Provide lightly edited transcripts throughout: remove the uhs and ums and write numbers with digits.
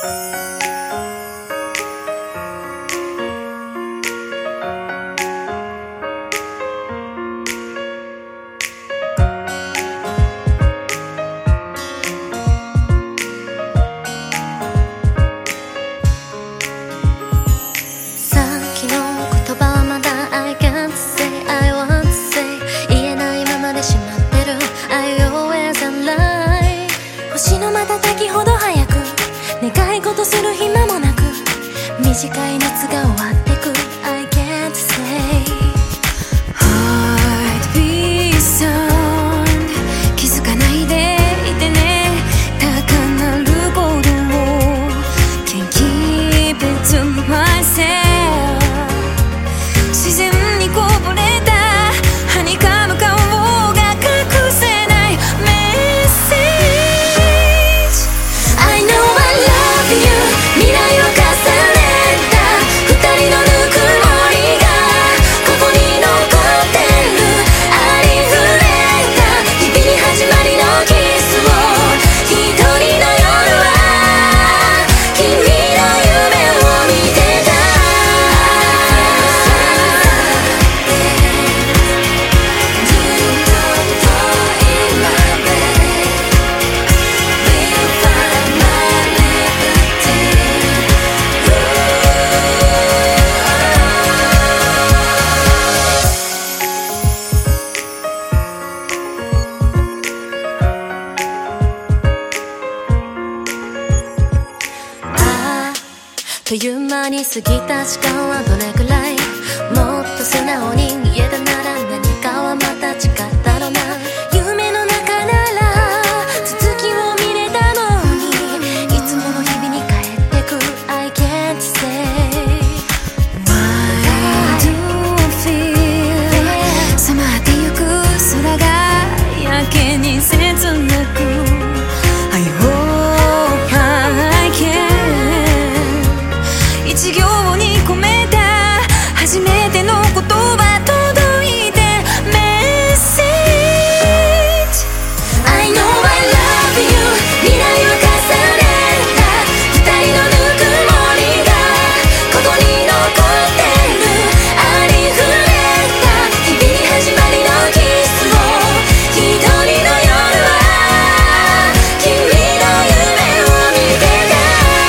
する暇もなく短い夏が終わってく I can't say Heartbeat sound 気づかないでいてね高鳴る鼓動 Can't keep it to myself 自然にこぼれたはにかむ顔が隠せないメッセージ I know I love you 未来を重ねた二人のぬくもりがここに残ってるありふれた日々に始まりのキスを一人の夜は君の夢を見てたという間に過ぎた時間はどれくらいもっと素直に言えたなら何かはまた違ったろな夢の中なら続きを見れたのにいつもの日々に帰ってく I can't say Why do I feel 染まってゆく空がやけに切なく I hope I can一行に込めた初めての言葉届いてメッセージ I know I love you 未来を重ねた二人のぬくもりがここに残ってるありふれた日々に始まりのキスを一人の夜は君の夢を見てた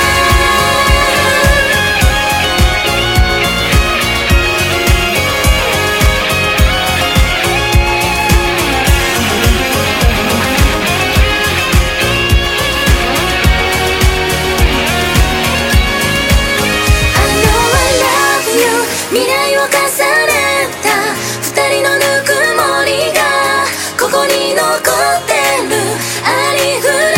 未来を重ねた二人のぬくもりがここに残ってるありふれ